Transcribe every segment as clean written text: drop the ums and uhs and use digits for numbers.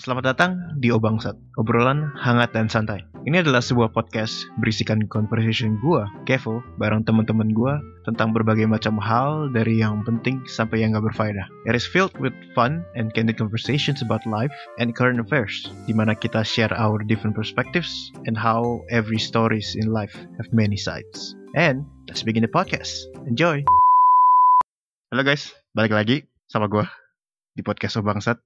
Selamat datang di Obangsat, obrolan hangat dan santai. Ini adalah sebuah podcast berisikan conversation gua, Kevo, bareng teman-teman gua tentang berbagai macam hal dari yang penting sampai yang gak berfaedah. It is filled with fun and candid conversations about life and current affairs, di mana kita share our different perspectives and how every stories in life have many sides. And let's begin the podcast. Enjoy! Halo guys, balik lagi sama gua di podcast Obangsat.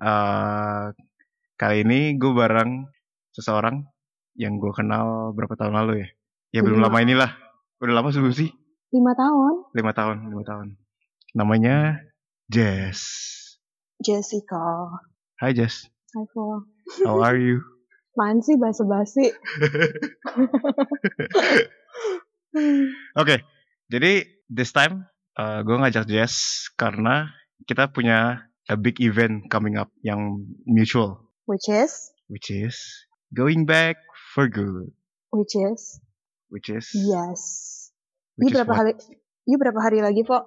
Kali ini gue bareng seseorang yang gue kenal berapa tahun lalu ya? Ya belum lama inilah. Udah lama sebelum sih? 5 tahun. 5 tahun. Namanya Jess. Jessica. Hai Jess. Hai Fo. How are you? Apaan sih basa-basi? Oke, jadi this time gue ngajak Jess karena kita punya a big event coming up yang mutual. Which is going back for good. Which is yes. Which Ini berapa hari lagi, Fo?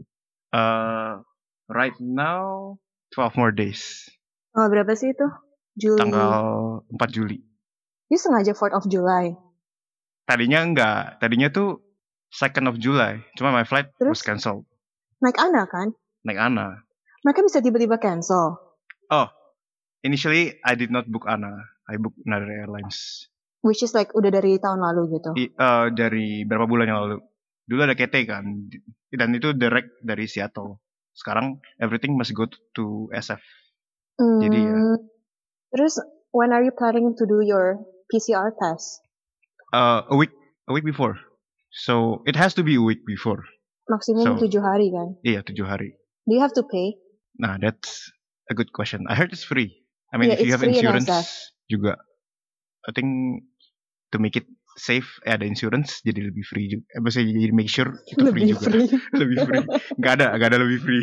Right now 12 more days. Oh, berapa sih itu? Juli. Tanggal 4 Juli. You sengaja 4th of July. Tadinya enggak. Tadinya tuh 2nd of July. Cuma my flight was cancelled. Naik Ana kan? Naik Ana. Mereka bisa tiba-tiba cancel. Oh, initially I did not book Ana. I booked another airlines. Which is like udah dari tahun lalu gitu. Dari berapa bulan yang lalu. Dulu ada KT kan. Dan itu direct dari Seattle. Sekarang everything must go to SF. Jadi ya. Terus when are you planning to do your PCR test? A week before. So it has to be a week before. Maksimum 7 hari kan? Iya, 7 hari. Do you have to pay? Nah, that's a good question. I heard it's free. I mean, yeah, if you have insurance juga. I think to make it safe, ada insurance jadi lebih free juga. Maksudnya jadi make sure itu free juga. Lebih free. Gak ada lebih free.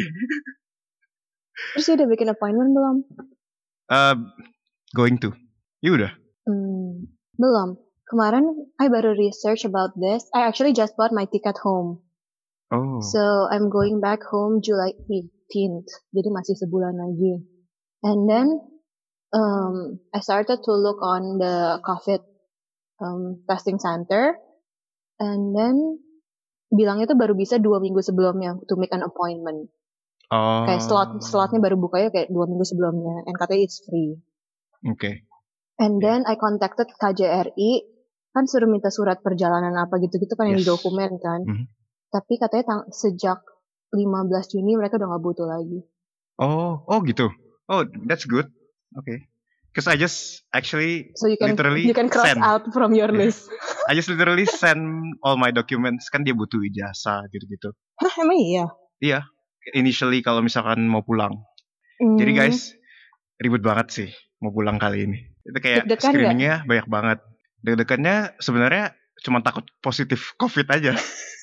Terus udah bikin appointment belum? Going to. You udah? Belum. Kemarin I baru research about this. I actually just bought my ticket home. Oh. So I'm going back home July 18th. Jadi masih sebulan lagi. And then I started to look on the COVID testing center. And then bilangnya tuh baru bisa 2 minggu sebelumnya to make an appointment. Oh. Kayak slotnya baru bukanya kayak 2 minggu sebelumnya. And katanya it's free. Okay. And then I contacted KJRI. Kan suruh minta surat perjalanan apa gitu-gitu kan yang di dokumen kan. Tapi katanya sejak 15 Juni mereka udah gak butuh lagi. Oh gitu. Oh, that's good. Okay. Because I just actually you can cross out from your list. I just literally send all my documents. Kan dia butuh ijazah gitu-gitu. Hah, emang iya? Iya. Initially kalau misalkan mau pulang. Jadi guys, ribet banget sih mau pulang kali ini. Itu kayak deg-degan screeningnya gak? Banyak banget. Deg-degannya sebenarnya cuma takut positif COVID aja.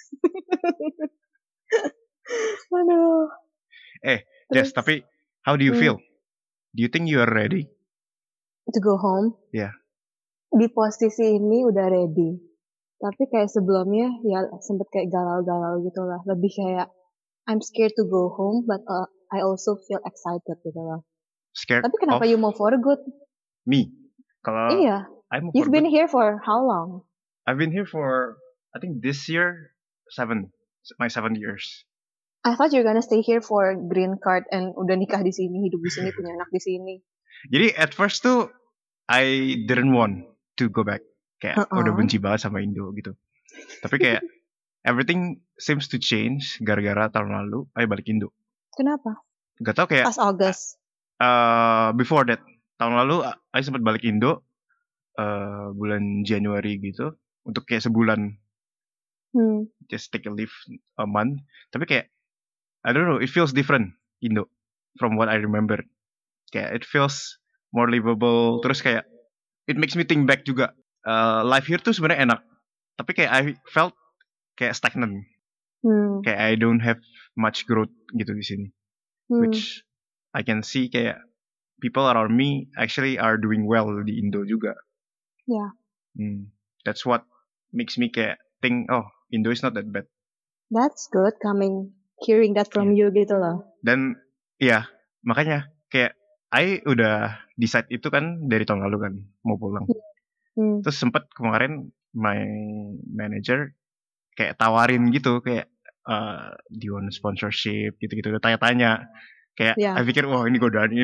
Aduh. Jess, tapi how do you feel? Do you think you are ready? To go home? Yeah. Di posisi ini udah ready. Tapi kayak sebelumnya ya sempet kayak galau-galau gitu lah. Lebih kayak I'm scared to go home, but I also feel excited gitu lah. Scared? Tapi kenapa you mau for good? Me? Kalau iya. You've been here for how long? I've been here for, I think this year, my 7 years. I thought you're gonna stay here for green card and udah nikah di sini, hidup di sini, punya anak di sini. Jadi at first tuh I didn't want to go back. Kayak udah benci banget sama Indo gitu. Tapi kayak everything seems to change gara-gara tahun lalu I balik Indo. Kenapa? Gak tau kayak pas August. Before that, tahun lalu I sempat balik Indo bulan Januari gitu untuk kayak sebulan. Just take a leave a month. Tapi kayak I don't know, it feels different Indo from what I remember. Kayak it feels more livable. Terus kayak it makes me think back juga. Life here tuh sebenarnya enak. Tapi kayak I felt kayak stagnant. Kayak I don't have much growth gitu di sini. Which I can see kayak people around me actually are doing well di Indo juga. Yeah. That's what makes me kayak think, oh, Indo is not that bad. That's good hearing that from you gitu loh. Dan makanya kayak I udah decide itu kan dari tahun lalu kan mau pulang. Terus sempet kemarin my manager kayak tawarin gitu kayak do you want sponsorship gitu-gitu tanya-tanya kayak I pikir wah ini godaan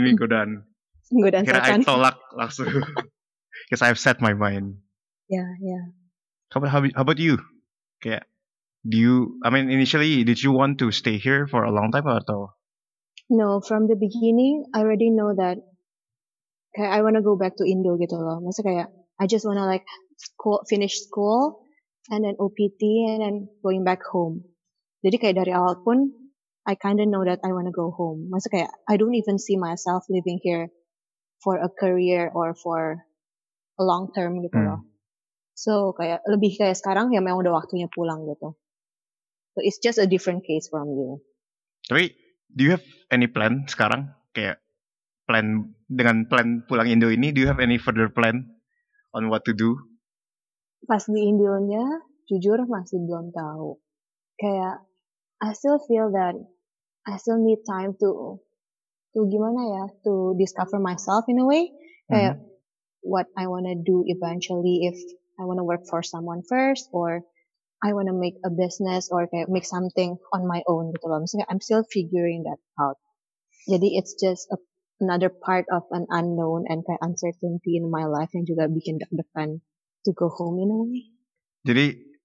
kira I setan. tolak langsung because I've set my mind. Yeah. How about you? Kayak initially did you want to stay here for a long time atau? No, from the beginning I already know that kayak I wanna go back to Indo gitu loh. Maksudnya kayak I just wanna like finish school and then OPT and then going back home. Jadi kayak dari awal pun I kinda know that I wanna go home. Maksudnya kayak I don't even see myself living here for a career or for a long term gitu loh. So kayak lebih kayak sekarang ya memang udah waktunya pulang gitu. So it's just a different case from you. Tapi do you have any plan sekarang kayak plan pulang Indo ini, do you have any further plan on what to do? Pas di Indonya jujur masih belum tahu. Kayak I still feel that I still need time to gimana ya, to discover myself in a way. Kayak what I wanna do eventually, if I wanna work for someone first or I wanna make a business or kayak make something on my own gitu loh. Maksudnya I'm still figuring that out. Jadi it's just another part of an unknown and kayak uncertainty in my life yang juga bikin deg-degan to go home in a way. Jadi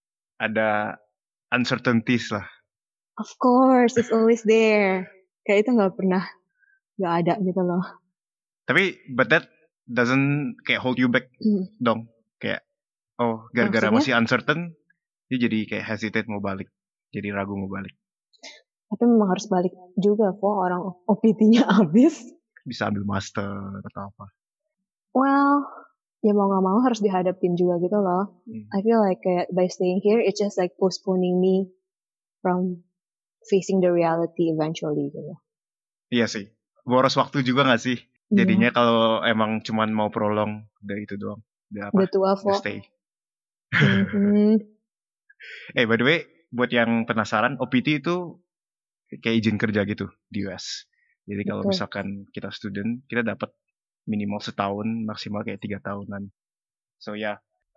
ada uncertainties lah. Of course, it's always there. Kayak itu nggak ada gitu loh. Tapi but that doesn't kayak hold you back dong. Kayak gara-gara masih uncertain, dia jadi kayak hesitate mau balik, jadi ragu mau balik. Tapi memang harus balik juga kok, orang OPT-nya habis. Bisa ambil master atau apa. Well, ya mau gak mau harus dihadapin juga gitu loh. I feel like by staying here, it's just like postponing me from facing the reality eventually gitu. Iya sih, boros waktu juga gak sih? Jadinya kalau emang cuman mau prolong, udah itu doang. Udah tua kok. Stay. By the way, buat yang penasaran, OPT itu kayak izin kerja gitu di US. Jadi kalau misalkan kita student, kita dapat minimal setahun, maksimal kayak 3 tahunan. So yeah,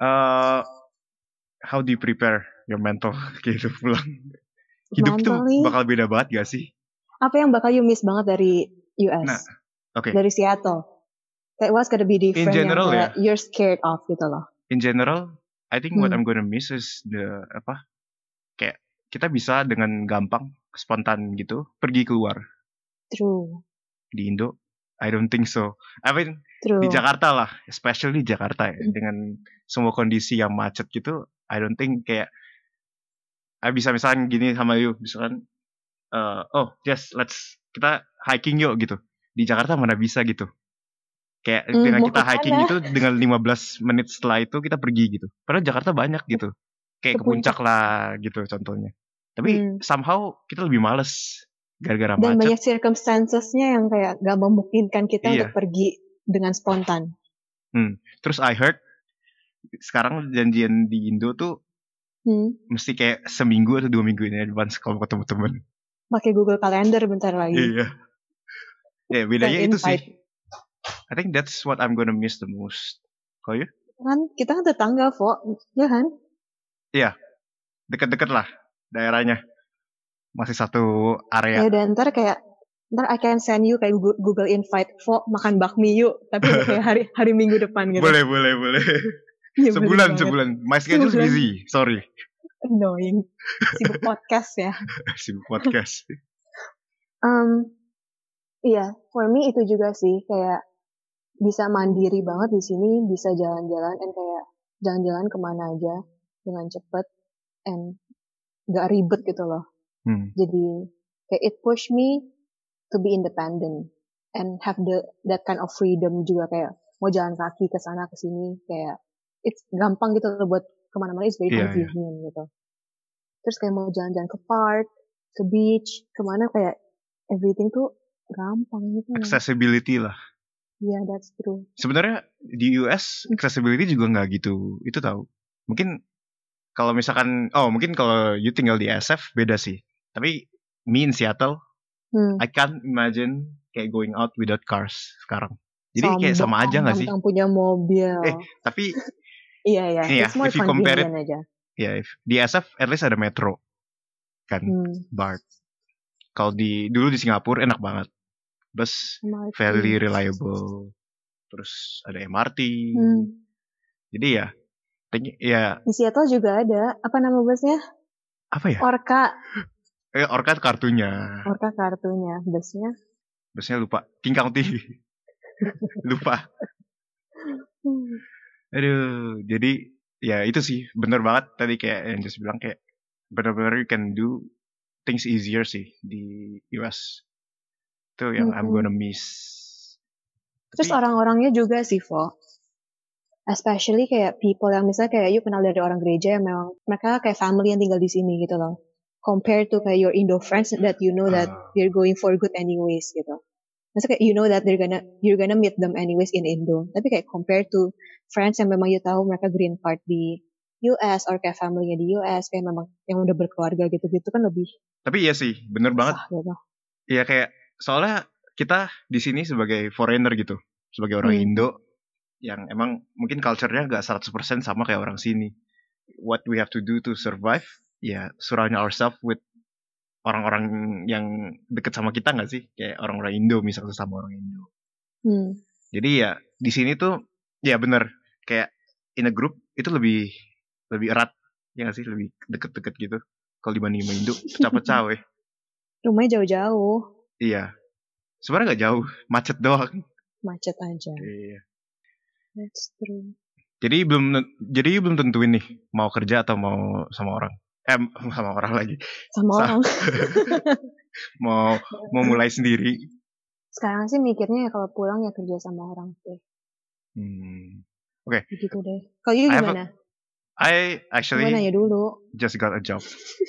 how do you prepare your mental gitu pulang? Hidup tuh bakal beda banget gak sih? Apa yang bakal you miss banget dari US? Nah, dari Seattle? Kayak what's gonna be different in general, yang you're scared of gitu loh? In general, I think what I'm gonna miss is kayak kita bisa dengan gampang, spontan gitu, pergi keluar. True. Di Indo, I don't think so. I mean, di Jakarta lah, especially di Jakarta ya, dengan semua kondisi yang macet gitu, I don't think kayak bisa misalkan gini sama you, misalkan kita hiking yuk gitu. Di Jakarta mana bisa gitu. Kayak dengan kita hiking itu dengan 15 menit setelah itu kita pergi gitu. Padahal Jakarta banyak gitu. Kayak ke puncak lah gitu contohnya. Tapi somehow kita lebih males gara-gara macet. Dan banyak circumstancesnya yang kayak gak memungkinkan kita untuk pergi dengan spontan. Terus I heard sekarang janjian di Indo tuh mesti kayak seminggu atau 2 minggu ini advance kalau ketemu temen. Pakai Google Calendar bentar lagi. Iya. Ya bedanya itu sih. I think that's what I'm gonna miss the most. Kalau you? Kan kita kan tetangga, Fo. Ya kan? Iya. Deket-deket lah daerahnya. Masih satu area. Ya dan ntar I can send you kayak Google invite, Fo makan bakmi yuk. Tapi kayak hari Minggu depan gitu. Boleh. Ya, sebulan. My schedule is busy. Sorry. Annoying. Sibuk podcast ya. Sibuk podcast. Iya, for me itu juga sih kayak bisa mandiri banget di sini, bisa jalan-jalan dan kayak jalan-jalan kemana aja dengan cepet and gak ribet gitu loh. Jadi kayak it push me to be independent and have that kind of freedom juga, kayak mau jalan kaki ke sana ke sini kayak it's gampang gitu loh buat kemana-mana, it's very convenient gitu. Terus kayak mau jalan-jalan ke park, ke beach, kemana kayak everything tuh gampang gitu. Accessibility lah. Yeah, that's true. Sebenarnya di US accessibility juga nggak gitu. Itu tahu. Mungkin kalau misalkan, mungkin kalau you tinggal di SF beda sih. Tapi me in Seattle, I can't imagine kayak going out without cars sekarang. Jadi kayak sama aja nggak sih? Punya mobil. Tapi iya, ini ya, it's more if you compare it, convenient aja. ya, di SF at least ada metro kan, BART. Kalau dulu di Singapura enak banget, bus very reliable, terus ada MRT. Jadi ya di Seattle juga ada, apa nama busnya? Apa ya? Orca. Orca kartunya. Orca kartunya, busnya lupa. King County. Lupa. Aduh, jadi ya itu sih bener banget tadi kayak yang just bilang, kayak benar-benar you can do things easier sih di US. Itu yang I'm gonna miss. Terus orang-orangnya juga sih, Vo. Especially kayak people yang misalnya kayak you kenal dari orang gereja yang memang mereka kayak family yang tinggal di sini gitu loh. Compared to kayak your Indo friends that you know that they're going for good anyways gitu. Maksudnya kayak you know that you're gonna meet them anyways in Indo. Tapi kayak compared to friends yang memang you tahu mereka green card di US or kayak family-nya di US kayak memang yang udah berkeluarga gitu-gitu kan lebih. Tapi iya sih, bener banget. Iya gitu. Kayak soalnya kita di sini sebagai foreigner gitu, sebagai orang Indo yang emang mungkin culture-nya gak 100% sama kayak orang sini. What we have to do to survive, ya surround ourselves with orang-orang yang deket sama kita gak sih? Kayak orang-orang Indo misalnya, sama orang Indo. Jadi ya di sini tuh ya bener, kayak in a group itu lebih erat, ya gak sih? Lebih deket-deket gitu. Kalau dibanding sama Indo, pecah-pecah weh. Rumahnya jauh-jauh. Iya. Sebenarnya gak jauh, macet doang. Macet aja. Iya. That's true. Jadi belum tentuin nih mau kerja atau mau sama orang. Sama orang lagi. Sama orang. mau mulai sendiri. Sekarang sih mikirnya ya kalau pulang ya kerja sama orang sih. Oke. Begitu deh. Kalau you gimana? I actually nanya dulu. just got a job.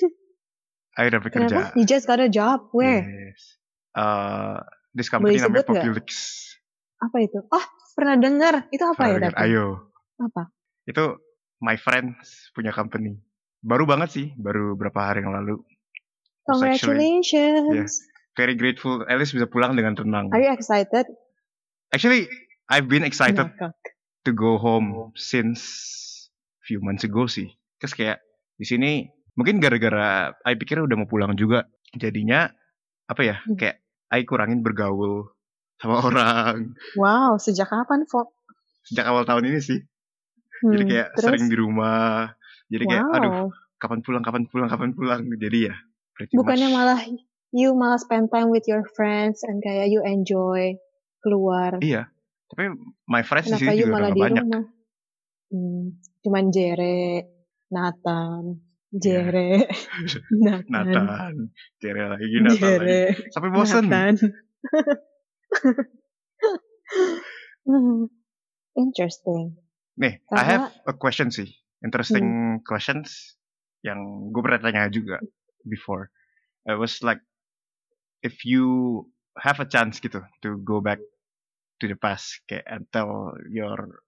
I udah bekerja. You just got a job? Where? Yes. This company namanya Populix. Apa itu? Pernah dengar. Itu apa ya? Ayo. Apa? Itu my friends punya company. Baru banget sih, baru berapa hari yang lalu. Congratulations. Very grateful. At least bisa pulang dengan tenang. Are you excited? Actually, I've been excited to go home since few months ago sih. Terus kayak di sini mungkin gara-gara I pikir udah mau pulang juga. Jadinya apa ya? Kayak I kurangin bergaul sama orang. Wow, sejak kapan, Fok? Sejak awal tahun ini sih. Jadi kayak sering di rumah. Jadi kayak aduh, kapan pulang. Jadi ya bukannya malah you malah spend time with your friends and kayak you enjoy keluar. Iya. Tapi my friends di sini juga udah banyak. Rumah? Cuman Jere, Nathan, Jere, Nathan, Jere lagi. Sampai bosan. Interesting. Nih, I have a question sih. Interesting questions yang gue pernah tanya juga before. I was like, if you have a chance gitu to go back to the past, kayak and tell your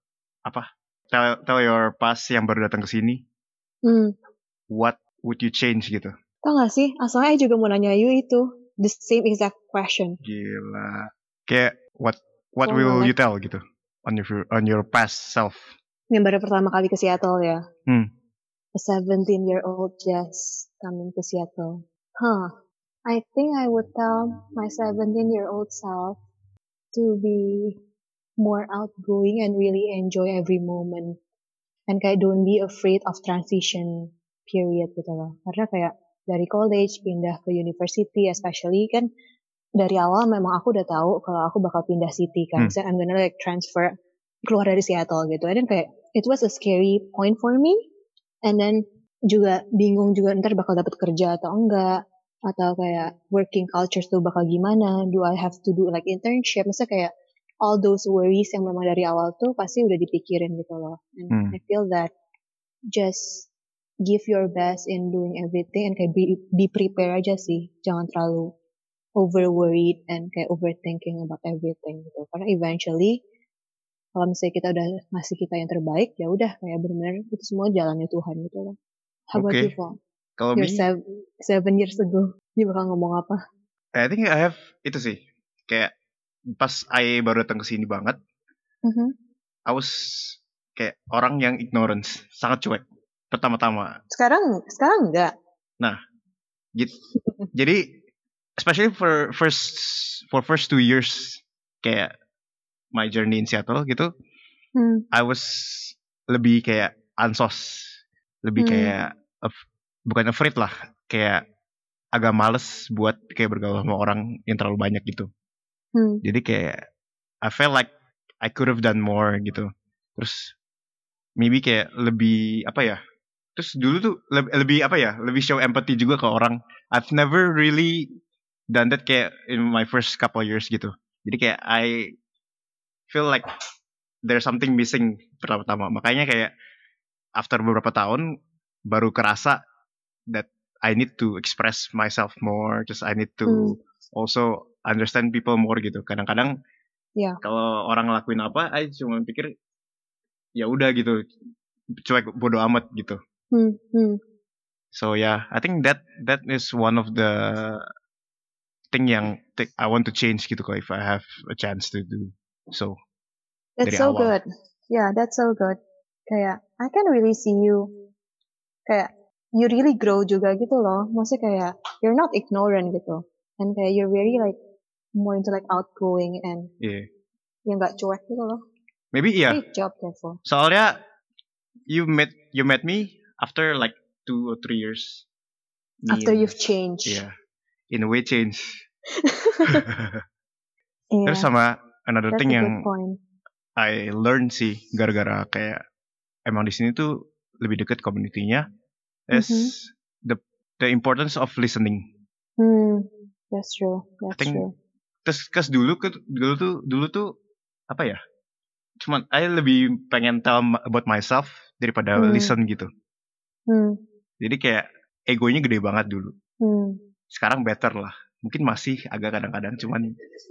past yang baru datang ke sini, what would you change gitu? Tau gak sih, asalnya juga mau nanya you itu the same exact question. Gila. Kayak what will you tell gitu on your past self? Yang baru pertama kali ke Seattle ya. A 17-year-old Jess coming to Seattle. I think I would tell my 17-year-old self to be more outgoing and really enjoy every moment. And kayak don't be afraid of transition period gitu loh. Karena kayak dari college pindah ke university, especially kan dari awal memang aku udah tahu kalau aku bakal pindah city kan. So I'm gonna like transfer keluar dari Seattle gitu. And then kayak it was a scary point for me. And then juga bingung juga ntar bakal dapat kerja atau enggak. Atau kayak working culture tuh bakal gimana. Do I have to do like internship? Maksudnya kayak all those worries yang memang dari awal tuh pasti udah dipikirin gitu loh. And I feel that just give your best in doing everything and kayak be prepare aja sih. Jangan terlalu over worried and kayak overthinking about everything gitu. Karena eventually kalau misalnya kita udah ngasih kita yang terbaik, ya udah kayak benar-benar itu semua jalannya Tuhan gitu loh. How about you, Fong? Kalau me, 7 years ago, dia bakal ngomong apa? I think I have itu sih. Kayak pas I baru datang ke sini banget, I was kayak orang yang ignorance, sangat cuek pertama-tama. Sekarang enggak. Nah, jadi especially for first 2 years kayak my journey in Seattle gitu, I was lebih kayak ansos, lebih kayak bukan afraid lah, kayak agak males buat kayak bergaul sama orang yang terlalu banyak gitu. Jadi kayak I felt like I could have done more gitu. Terus maybe kayak lebih apa ya? Terus dulu tuh lebih apa ya? Lebih show empathy juga ke orang. I've never really done that kayak in my first couple years gitu. Jadi kayak I feel like there's something missing pertama-tama. Makanya kayak after beberapa tahun baru kerasa that I need to express myself more. Just I need to also understand people more gitu. Kadang-kadang kalau orang ngelakuin apa, I cuma pikir ya udah gitu, cuek, bodo amat gitu. So yeah, I think that is one of the thing yang I want to change gitu kalau if I have a chance to do so. That's so good. Yeah, that's so good. Kayak I can really see you kayak you really grow juga gitu loh. Maksudnya kayak you're not ignorant gitu. And kayak you're very like more into like outgoing and yang gak cuek gitu loh. Maybe yeah. Great job, Kevo. Soalnya you met me after like 2 or 3 years. After you've changed. Yeah. In a way change. Terus sama another thing yang I learned sih gara-gara kayak emang di sini tuh lebih dekat community-nya is the importance of listening. That's true. That's true. Terus dulu tuh apa ya? Cuman I lebih pengen tell about myself daripada listen gitu. Jadi kayak egonya gede banget dulu. Sekarang better lah. Mungkin masih agak kadang-kadang cuman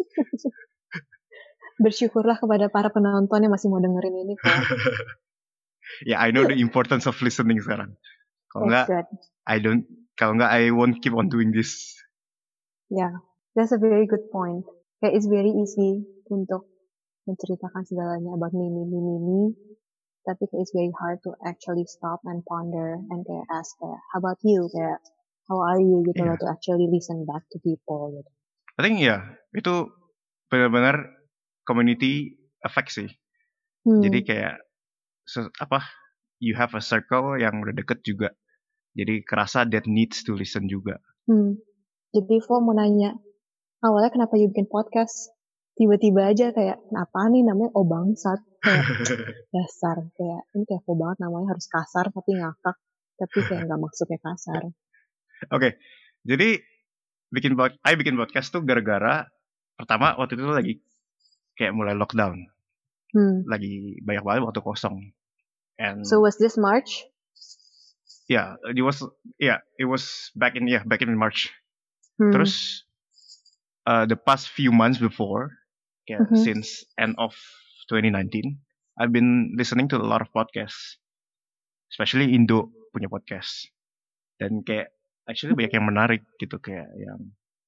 bersyukurlah kepada para penonton yang masih mau dengerin ini kok. Yeah, I know the importance of listening sekarang. Kalau enggak I won't keep on doing this. Yeah, that's a very good point. Kayak it's very easy untuk menceritakan segalanya about me. Tapi kayak it's very hard to actually stop and ponder and kayak ask kayak, how about you? Kayak, how are you? Gitu loh, to actually listen back to people gitu. I think itu benar-benar community effect sih. Jadi kayak you have a circle yang udah deket juga. Jadi kerasa that needs to listen juga. Jadi Vo mau nanya, awalnya kenapa you bikin podcast? Tiba-tiba aja kayak, kenapa nih namanya Bangsat? Kayak dasar, kayak ini kayak Vo banget namanya harus kasar tapi ngakak. Tapi kayak gak maksudnya kasar. Oke, jadi I bikin podcast tuh gara-gara pertama waktu itu lagi kayak mulai lockdown. Lagi banyak banget waktu kosong. And so was this March? Yeah, it was back in March. Terus the past few months before, since end of 2019, I've been listening to a lot of podcasts, especially Indo punya podcast. Dan kayak actually banyak yang menarik gitu, kayak yang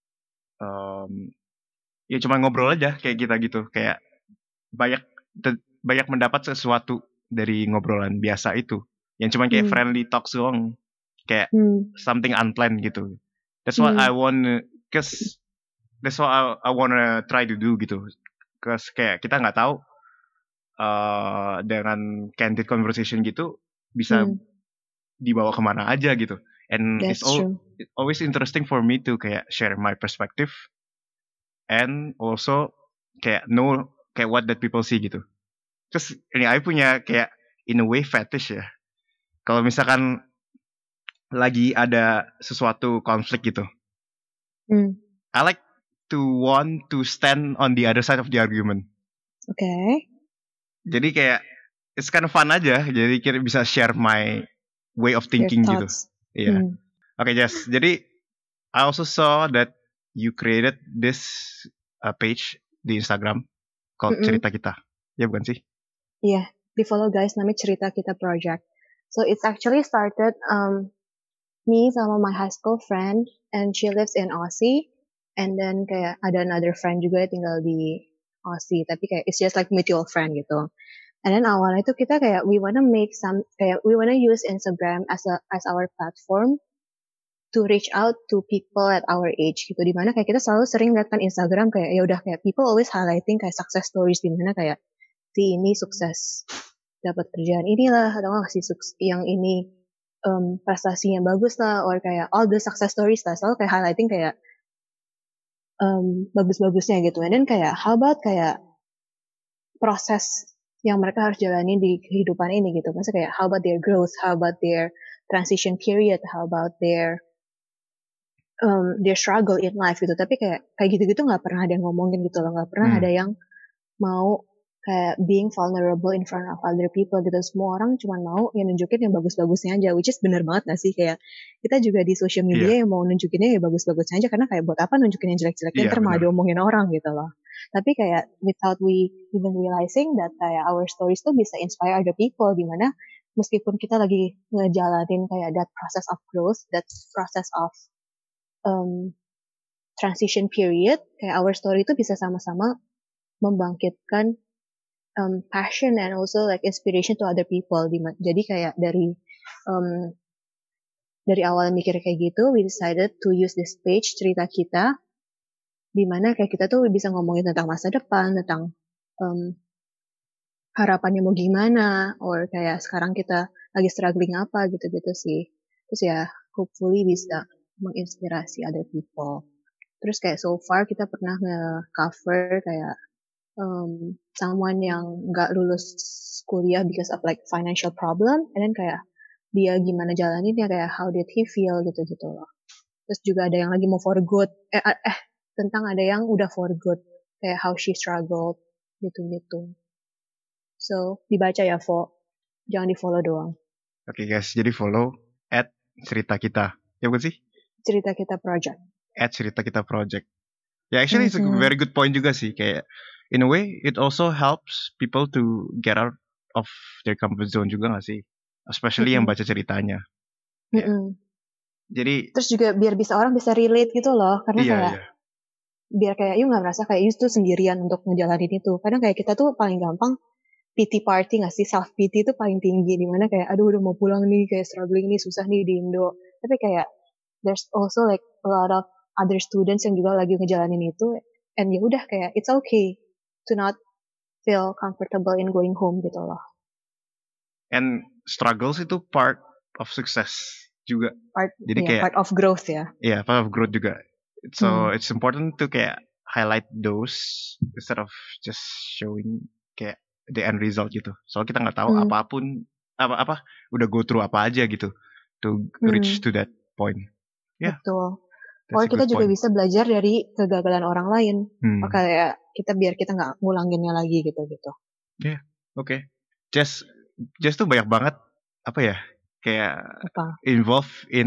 ya cuma ngobrol aja kayak kita gitu, kayak banyak mendapat sesuatu dari ngobrolan biasa itu, yang cuma kayak friendly talk doang, kayak something unplanned gitu. That's what I want, cause that's what I wanna try to do gitu. Cause kayak kita nggak tahu dengan candid conversation gitu bisa dibawa kemana aja gitu. And it's always interesting for me to kayak share my perspective and also kayak know kayak what that people see gitu. Terus ini I punya kayak in a way fetish ya. Kalau misalkan lagi ada sesuatu konflik gitu, I like to want to stand on the other side of the argument. Okay. Jadi kayak it's kind of fun aja. Jadi kira bisa share my way of thinking gitu. Iya. Okay, Jess. Jadi I also saw that you created this page di Instagram called Cerita Kita. Ya bukan sih? Iya, di follow guys, namanya Cerita Kita Project. So it's actually started me sama my high school friend, and she lives in Aussie. And then kayak ada another friend juga tinggal di Aussie, tapi kayak it's just like mutual friend gitu. And then awalnya itu kita kayak we wanna use Instagram as our platform to reach out to people at our age gitu. Dimana kayak kita selalu sering lihat kan Instagram kayak ya udah kayak people always highlighting kayak success stories, dimana kayak si ini sukses dapat kerjaan inilah, atau nggak si yang ini prestasinya bagus lah, or kayak all the success stories lah, selalu kayak highlighting kayak bagus-bagusnya gitu. And then kayak how about kayak proses yang mereka harus jalani di kehidupan ini gitu. Maksudnya kayak how about their growth, how about their transition period, how about their struggle in life gitu. Tapi kayak gitu-gitu nggak pernah ada yang ngomongin gitu loh, nggak pernah ada yang mau kayak being vulnerable in front of other people gitu. Semua orang cuma mau yang nunjukin yang bagus-bagusnya aja, which is bener banget gak sih? Kayak kita juga di social media yang mau nunjukinnya ya bagus-bagusnya aja, karena kayak buat apa nunjukin yang jelek-jeleknya, ntar malah diomongin orang gitu loh. Tapi kayak without we even realizing that kayak our stories tuh bisa inspire other people, dimana meskipun kita lagi ngejalanin kayak that process of growth, that process of transition period, kayak our story itu bisa sama-sama membangkitkan passion and also like inspiration to other people. Jadi kayak dari awal mikir kayak gitu, we decided to use this page cerita kita, dimana kayak kita tuh bisa ngomongin tentang masa depan, tentang harapannya mau gimana, or kayak sekarang kita lagi struggling apa gitu-gitu sih. Terus ya hopefully bisa menginspirasi other people. Terus kayak so far kita pernah nge-cover kayak someone yang nggak lulus kuliah because of like financial problem, and then kayak dia gimana jalaninnya, kayak how did he feel gitu-gitu loh. Terus juga ada yang lagi mau for good, tentang ada yang udah for good, kayak how she struggled gitu-gitu. So dibaca ya, Vo, jangan di follow doang. Oke guys, jadi follow @cerita kita, ya bukan sih? Cerita kita project. @cerita kita project. Ya actually it's a very good point juga sih, kayak in a way it also helps people to get out of their comfort zone juga gak sih? Especially yang baca ceritanya. Jadi terus juga biar orang bisa relate gitu loh, karena kayak biar kayak you nggak merasa kayak you tuh sendirian untuk ngejalanin itu. Kadang kayak kita tuh paling gampang pity party nggak sih, self pity itu paling tinggi, dimana kayak aduh udah mau pulang nih, kayak struggling nih, susah nih di Indo. Tapi kayak there's also like a lot of other students yang juga lagi ngejalanin itu, and ya udah kayak it's okay to not feel comfortable in going home gitu loh. And struggles itu part of success juga. Jadi kayak part of growth ya. Iya, part of growth juga. So it's important to kayak highlight those instead of just showing kayak the end result gitu. Soalnya kita nggak tahu apapun apa udah go through apa aja gitu to reach to that point. Yeah. Betul. Or kita juga bisa belajar dari kegagalan orang lain. Kayak biar kita nggak ngulanginnya lagi gitu-gitu. Yeah, oke. Just tuh banyak banget apa ya, kayak involve in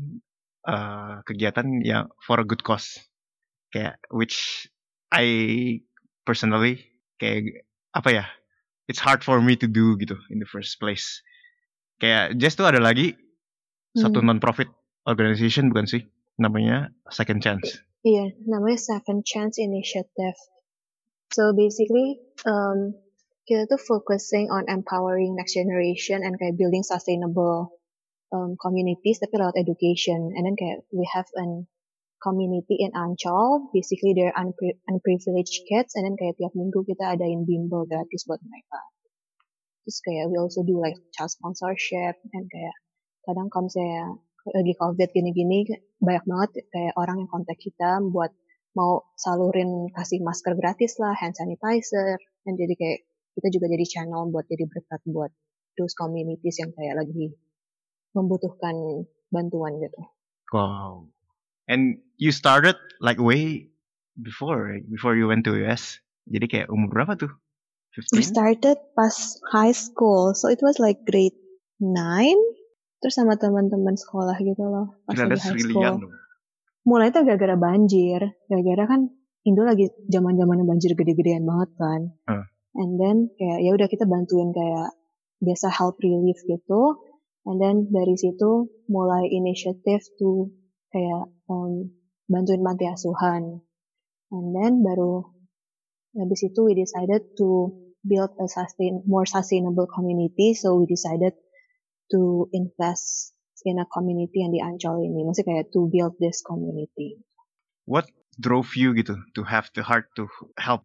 kegiatan yang for a good cause, kayak which I personally kayak apa ya, it's hard for me to do gitu in the first place. Kayak Just tuh ada lagi satu non-profit organization bukan sih, namanya Second Chance. Iya, namanya Second Chance Initiative. So basically kita tuh focusing on empowering next generation and kayak building sustainable communities tapi lewat education. And then kayak we have an community in Ancol, basically they're unprivileged kids, and then kayak tiap minggu kita adain bimbel gratis buat mereka. Terus kayak we also do like child sponsorship, and kayak kadang kalau misalnya lagi COVID gini-gini banyak banget kayak orang yang kontak kita buat mau salurin kasih masker gratis lah, hand sanitizer, dan jadi kayak kita juga jadi channel buat jadi berkat buat those communities yang kayak lagi membutuhkan bantuan gitu. Wow. And you started like way before you went to US. Jadi kayak umur berapa tuh? 15? We started pas high school, so it was like grade 9. Terus sama teman-teman sekolah gitu loh, pas lagi high school. Mulai tuh gara-gara banjir, gara-gara kan Indo lagi zaman-zamannya banjir gede-gedean banget kan. And then kayak ya udah kita bantuin kayak biasa help relief gitu. And then dari situ mulai initiative to kayak bantuin panti asuhan. And then baru Habis itu we decided to build a more sustainable community, so we decided to invest in a community yang di Ancol ini. Maksudnya kayak to build this community. What drove you gitu to have the heart to help?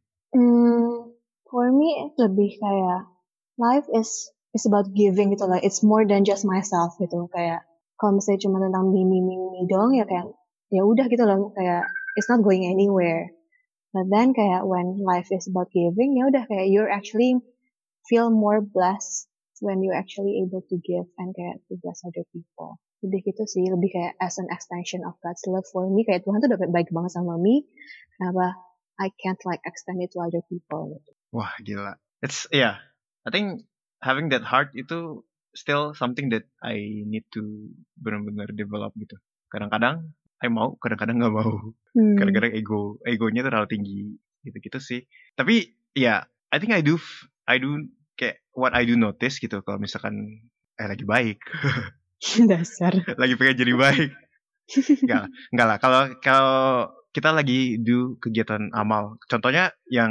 For me lebih kayak life is about giving gitu lah. It's more than just myself gitu. Kayak kalau misalnya cuma tentang me doang ya kayak ya udah gitu loh, kayak it's not going anywhere. But then kayak when life is about giving, ya udah kayak you're actually feel more blessed when you actually able to give and kayak to bless other people. Lebih gitu sih, lebih kayak as an extension of God's love for me. Kayak Tuhan tuh udah baik banget sama me, kenapa I can't like extend it to other people gitu. Wah gila. It's I think having that heart itu still something that I need to benar-benar develop gitu. Kadang-kadang I mau, kadang-kadang nggak mau. Kadang-kadang egonya terlalu tinggi gitu-gitu sih. Tapi I think I do kayak what I do notice gitu kalau misalkan lagi baik. Dasar. Lagi pengen jadi baik. Enggak lah. Kalau kita lagi do kegiatan amal. Contohnya yang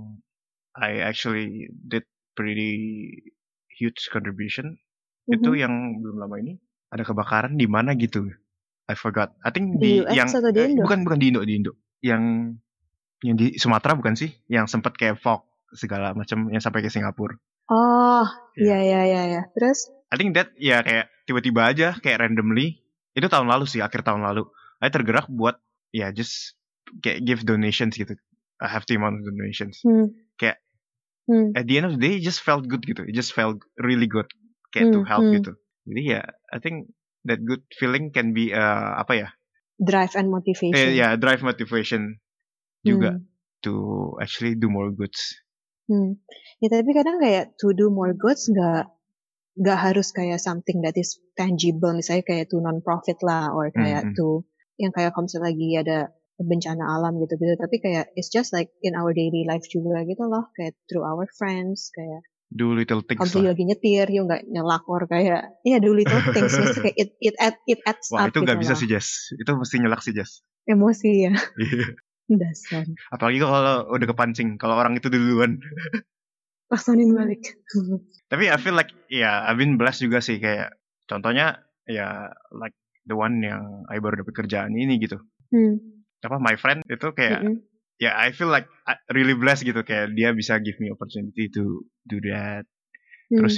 I actually did pretty huge contribution. Itu yang belum lama ini ada kebakaran di mana gitu. I forgot. I think di US atau di Indo? Bukan di Indo. Yang di Sumatera bukan sih? Yang sempat kayak fog segala macam yang sampai ke Singapura. Oh, iya. Terus? I think that kayak tiba-tiba aja kayak randomly. Itu tahun lalu sih, akhir tahun lalu. I tergerak buat just kayak give donations gitu. I have the amount of donations. Kayak at the end of the day it just felt good gitu. It just felt really good kayak to help gitu. Jadi I think that good feeling can be drive and motivation. Drive motivation juga to actually do more goods. Ya tapi kadang kayak to do more goods nggak harus kayak something that is tangible, misalnya kayak to non-profit lah, or kayak to yang kayak kalau misalnya lagi ada bencana alam gitu-gitu, tapi kayak it's just like in our daily life juga gitu loh, kayak through our friends, kayak do little things kalau lagi nyetir yuk nggak nyelak, or kayak do little things. Maksudnya kayak it adds wah, up. Itu nggak gitu bisa loh. sih Jess, itu mesti nyelak sih Jess, emosi ya. Dasar. Apalagi kalau udah kepancing, kalau orang itu duluan paksain balik. Tapi I feel like I've been blessed juga sih, kayak contohnya like the one yang I baru dapat kerjaan ini gitu. My friend itu kayak I feel like I really blessed gitu, kayak dia bisa give me opportunity to do that. Terus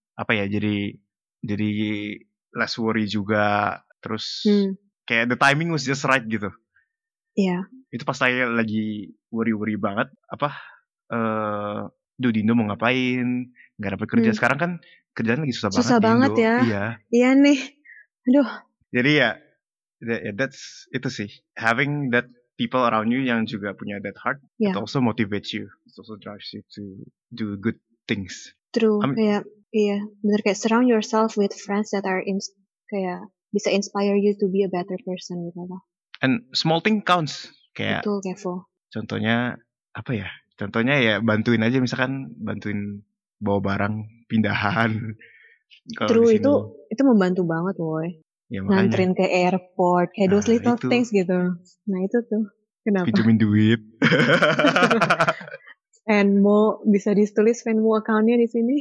jadi less worry juga. Terus kayak the timing was just right gitu. Iya. Itu pas saya lagi worry banget, Dindo mau ngapain, nggak dapat kerja. Sekarang kan kerjaan lagi susah banget di Indo. Ya. Iya nih, aduh. Jadi that's itu sih, having that people around you yang juga punya that heart, it also motivates you, it also drives you to do good things. True. Kayak bener, kayak surround yourself with friends that are kayak bisa inspire you to be a better person gitu loh. And small thing counts. Kayak betul, Kevo. Contohnya apa ya? Contohnya bantuin aja, misalkan bantuin bawa barang pindahan. True, itu membantu banget, woy. Nganterin ke airport, kayak those little things gitu. Nah itu tuh, kenapa? Pinjemin duit. Venmo, bisa ditulis Venmo account-nya di sini.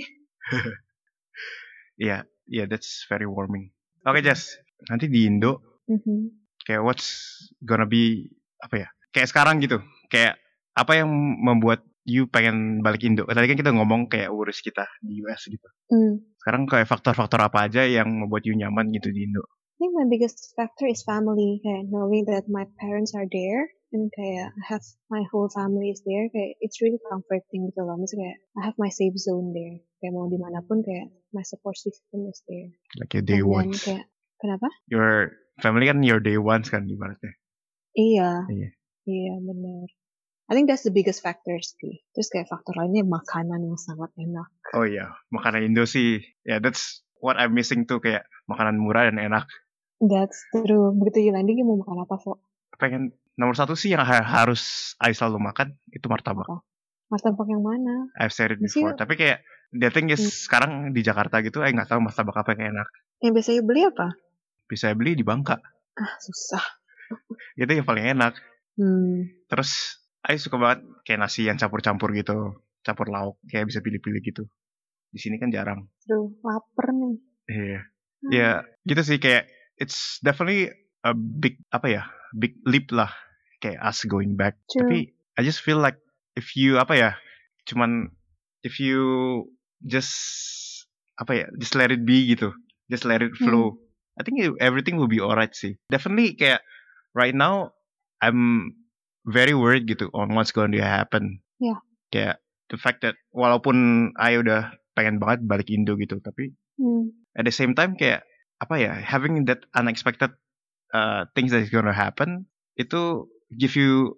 That's very warming. Oke, Jess, nanti di Indo, kayak what's gonna be kayak sekarang gitu, kayak apa yang membuat you pengen balik Indo? Tadi kan kita ngomong kayak urus kita di US gitu. Sekarang kayak faktor-faktor apa aja yang membuat you nyaman gitu di Indo? I think my biggest factor is family, kayak knowing that my parents are there, and kayak I have my whole family is there, kayak it's really comforting gitu loh. Maksudnya kayak I have my safe zone there, kayak mau dimanapun kayak my support system is there. Like your day ones. Kayak, kenapa? Your family kan your day ones kan ibaratnya. Iya, benar. I think that's the biggest factor sih. Terus kayak faktor lainnya makanan yang sangat enak. Oh iya, makanan Indo sih, that's what I'm missing tuh, kayak makanan murah dan enak. That's true. Begitu you landing, mau makan apa, Fo? Pengen nomor satu sih yang harus I selalu makan, itu martabak. Martabak yang mana? I've said it before. Tapi kayak the thing is, sekarang di Jakarta gitu, nggak tahu martabak apa yang enak. Yang biasanya beli apa? Bisa beli di Bangka. Susah. Itu yang paling enak. Terus I suka banget kayak nasi yang campur-campur gitu, campur lauk, kayak bisa pilih-pilih gitu. Di sini kan jarang. Duh, lapar nih. Iya. Ya, gitu sih kayak it's definitely a big big leap lah kayak us going back. True. Tapi I just feel like if you cuman if you just just let it be gitu, just let it flow. I think everything will be alright sih. Definitely kayak right now I'm very worried gitu on what's going to happen. Yeah. Kayak the fact that walaupun I udah pengen banget balik Indo gitu, tapi at the same time kayak having that unexpected things that is gonna happen itu give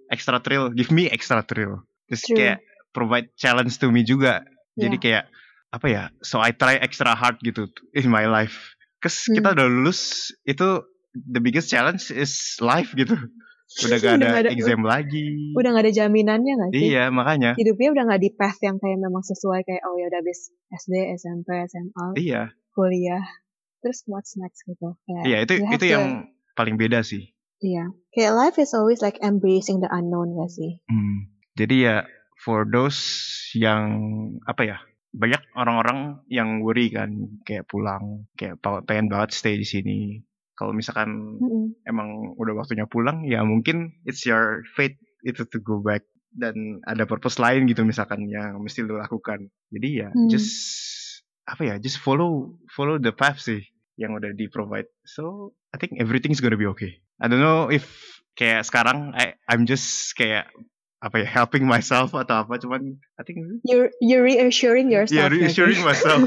me extra thrill. Terus True. kayak provide challenge to me juga. Jadi Yeah. kayak so I try extra hard gitu in my life. Cause kita udah lulus, itu the biggest challenge is life gitu. Udah gak ada exam lagi. Udah gak ada jaminannya gak sih? Iya, makanya. Hidupnya udah gak di path yang kayak memang sesuai kayak oh ya udah habis SD, SMP, SMA, Iya. kuliah. Terus what's next gitu. Kayak, iya, itu yang paling beda sih. Iya. Kayak life is always like embracing the unknown gak sih? Jadi ya for those yang banyak orang-orang yang worry kan kayak pulang, kayak pengen banget stay di sini. Kalau misalkan emang udah waktunya pulang, ya mungkin it's your fate itu to go back dan ada purpose lain gitu misalkan yang mesti lo lakukan. Jadi ya just follow the path sih yang udah di provide. So I think everything's gonna be okay. I don't know if kayak sekarang I'm just kayak helping myself atau apa, cuman I think you're reassuring yourself. Yeah, reassuring myself.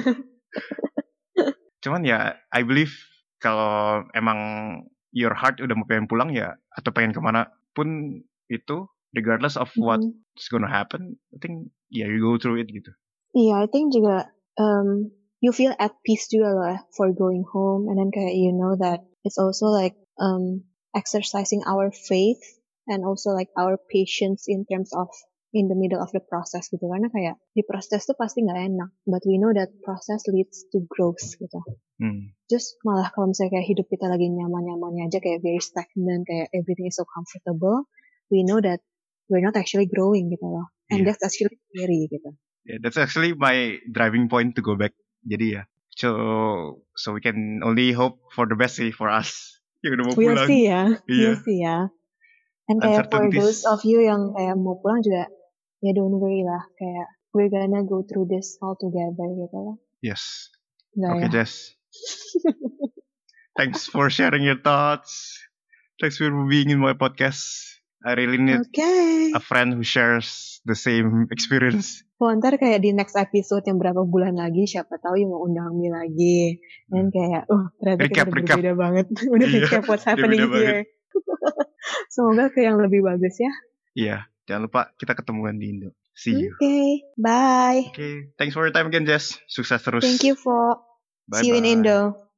Cuman ya I believe kalau emang your heart udah mau pengen pulang ya atau pengen kemana pun itu, regardless of what's gonna happen, I think you go through it gitu. Iya, I think juga you feel at peace juga lah for going home, and then kayak you know that it's also like exercising our faith and also like our patience in terms of in the middle of the process gitu, karena kayak di proses tuh pasti nggak enak, but we know that process leads to growth gitu. Just malah kalau misalnya kayak hidup kita lagi nyaman-nyamannya aja kayak very stagnant, kayak everything is so comfortable, we know that we're not actually growing gitu loh, and that's actually scary gitu. Yeah, that's actually my driving point to go back. Jadi ya, so we can only hope for the best sih for us yang udah mau pulang. We'll see ya. And kayak for those of you yang kayak mau pulang juga, ya don't worry lah, kayak we're gonna go through this all together gitu lah. Yes. Okay, Jess. Thanks for sharing your thoughts. Thanks for being in my podcast. I really need a friend who shares the same experience. Ntar kayak di next episode yang berapa bulan lagi, siapa tahu yang mau undang Mi lagi. Dan kayak, ternyata kita udah berbeda banget. Udah recap what's happening here. Semoga ke yang lebih bagus ya. Iya, jangan lupa kita ketemuan di Indo. See you. Okay, bye. Okay, thanks for your time again, Jess. Sukses terus. Thank you, Fo. See you in Indo.